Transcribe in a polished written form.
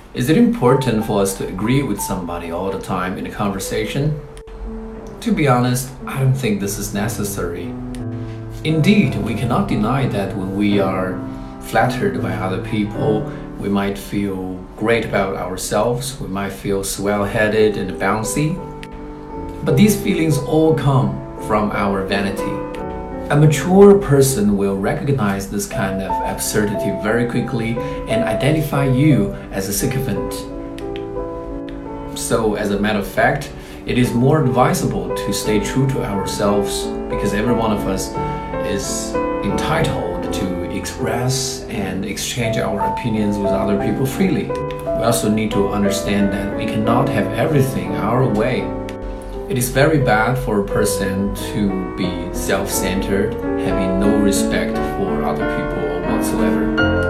Is it important for us to agree with somebody all the time in a conversation? To be honest, I don't think this is necessary. Indeed, we cannot deny that when we are flattered by other people, we might feel great about ourselves, we might feel swell-headed and bouncy. But these feelings all come from our vanity. A mature person will recognize this kind of absurdity very quickly and identify you as a sycophant. So, as a matter of fact, it is more advisable to stay true to ourselves because every one of us is entitled to express and exchange our opinions with other people freely. We also need to understand that we cannot have everything our way. It is very bad for a person to be self-centered, having no respect for other people whatsoever.